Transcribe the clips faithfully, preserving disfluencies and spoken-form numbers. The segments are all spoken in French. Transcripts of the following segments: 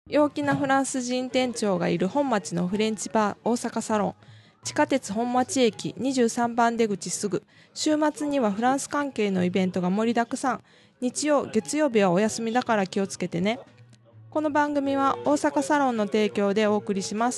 陽気なフランス人店長がいる本町のフレンチバー大阪サロン。地下鉄本町駅にじゅうさんばん出口すぐ。週末にはフランス関係のイベントが盛りだくさん。日曜、月曜日はお休みだから気をつけてね。この番組は大阪サロンの提供でお送りします。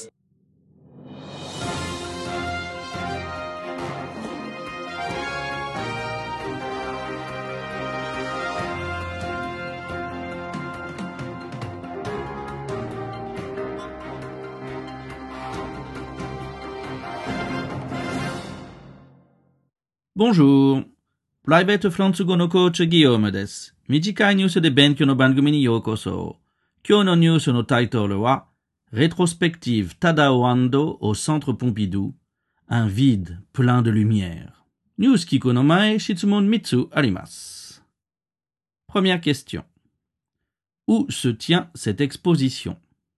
Bonjour. プライベートフランス語のコーチギヨームです。短いニュースで勉強の番組にようこそ。今日のニュースのタイトルは Rétrospective Tadao Ando au Centre Pompidou, un vide plein de lumière. ニュース聞くの前、質問みっつあります。Première question. Où se tient cette exposition?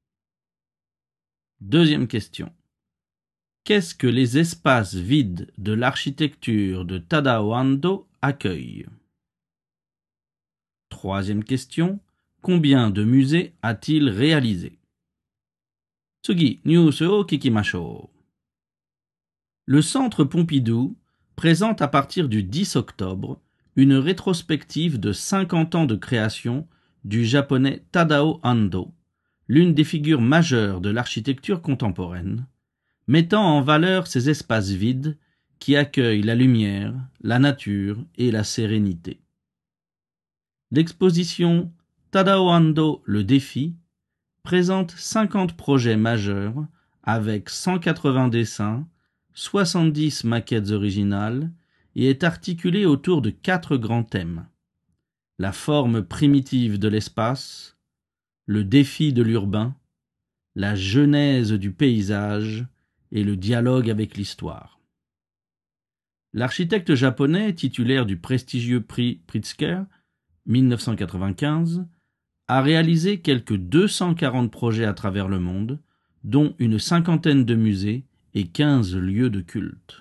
Deuxième question.Qu'est-ce que les espaces vides de l'architecture de Tadao Ando accueillent? Troisième question. Combien de musées a-t-il réalisé? Tsugi, news o kikimashou. Le Centre Pompidou présente à partir du dix octobre une rétrospective de cinquante ans de création du japonais Tadao Ando, l'une des figures majeures de l'architecture contemporaine, mettant en valeur ces espaces vides qui accueillent la lumière, la nature et la sérénité. L'exposition Tadao Ando le défi présente cinquante projets majeurs avec cent quatre-vingts dessins, soixante-dix maquettes originales et est articulée autour de quatre grands thèmes. La forme primitive de l'espace, le défi de l'urbain, la genèse du paysage et le dialogue avec l'histoire. L'architecte japonais titulaire du prestigieux prix Pritzker, mille neuf cent quatre-vingt-quinze, a réalisé quelques deux cent quarante projets à travers le monde, dont une cinquantaine de musées et quinze lieux de culte.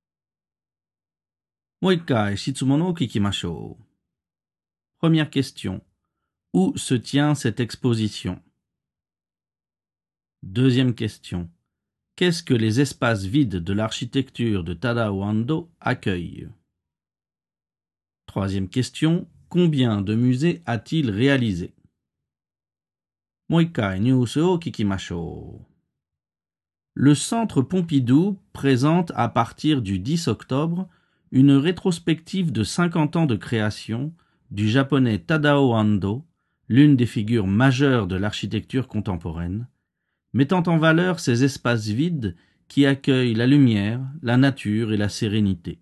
Moikai shitsumon o kikimashou. Première question. Où se tient cette exposition? Deuxième question.Qu'est-ce que les espaces vides de l'architecture de Tadao Ando accueillent? Troisième question. Combien de musées a-t-il réalisé? Moikai news o kikimashou. Le Centre Pompidou présente à partir du dix octobre une rétrospective de cinquante ans de création du japonais Tadao Ando, l'une des figures majeures de l'architecture contemporaine, mettant en valeur ces espaces vides qui accueillent la lumière, la nature et la sérénité.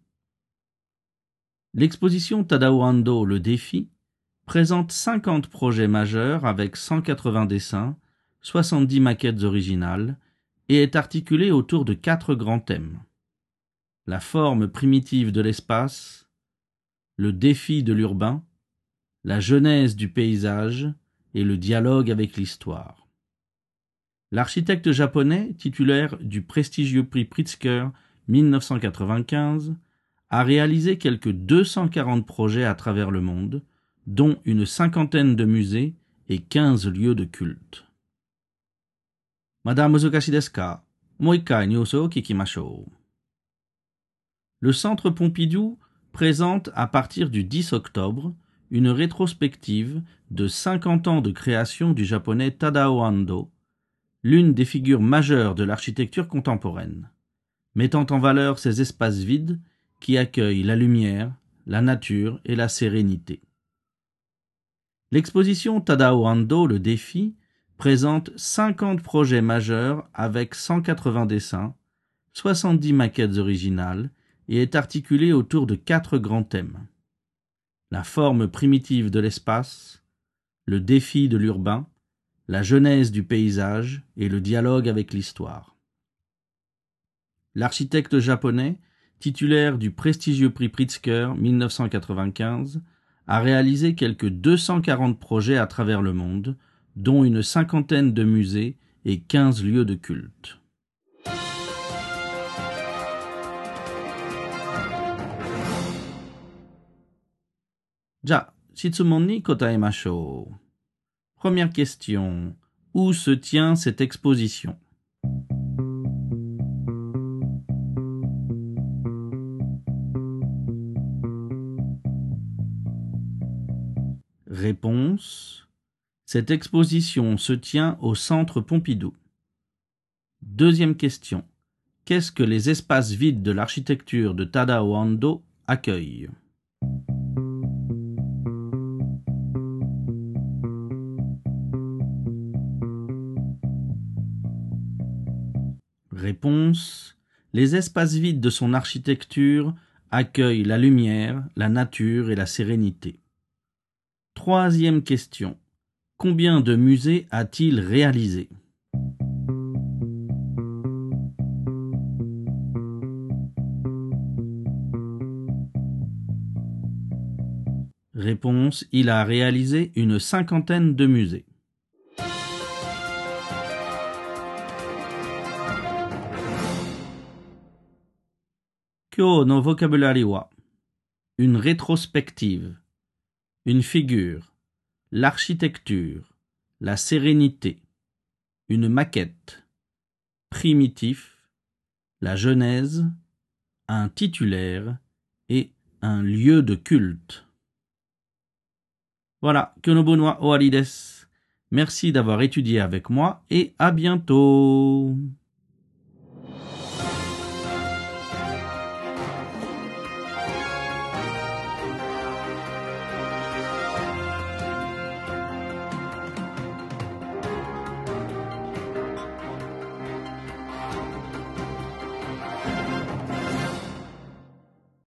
L'exposition Tadao Ando le défi présente cinquante projets majeurs avec cent quatre-vingts dessins, soixante-dix maquettes originales et est articulée autour de quatre grands thèmes. La forme primitive de l'espace, le défi de l'urbain, la genèse du paysage et le dialogue avec l'histoire. L'architecte japonais, titulaire du prestigieux prix Pritzker mille neuf cent quatre-vingt-quinze, a réalisé quelques deux cent quarante projets à travers le monde, dont une cinquantaine de musées et quinze lieux de culte. Madame muzukashi desu ka? Moikai news o kikimashou. Le Centre Pompidou présente à partir du dix octobre une rétrospective de cinquante ans de création du japonais Tadao Ando, l'une des figures majeures de l'architecture contemporaine, mettant en valeur ces espaces vides qui accueillent la lumière, la nature et la sérénité. L'exposition Tadao Ando le défi présente cinquante projets majeurs avec cent quatre-vingts dessins, soixante-dix maquettes originales et est articulée autour de quatre grands thèmes. La forme primitive de l'espace, le défi de l'urbain, la genèse du paysage et le dialogue avec l'histoire. L'architecte japonais, titulaire du prestigieux prix Pritzker mille neuf cent quatre-vingt-quinze, a réalisé quelques deux cent quarante projets à travers le monde, dont une cinquantaine de musées et quinze lieux de culte. Ja, shitsumon ni kotaemashou. Première question. Où se tient cette exposition? Réponse. Cette exposition se tient au Centre Pompidou. Deuxième question. Qu'est-ce que les espaces vides de l'architecture de Tadao Ando accueillent? Réponse. Les espaces vides de son architecture accueillent la lumière, la nature et la sérénité. Troisième question. Combien de musées a-t-il réalisé? Réponse. Il a réalisé une cinquantaine de musées. Kyo no vocabulari wa. Une rétrospective, une figure, l'architecture, la sérénité, une maquette, primitif, la genèse, un titulaire et un lieu de culte. Voilà, Kyonobu wa owari desu. Merci d'avoir étudié avec moi et à bientôt.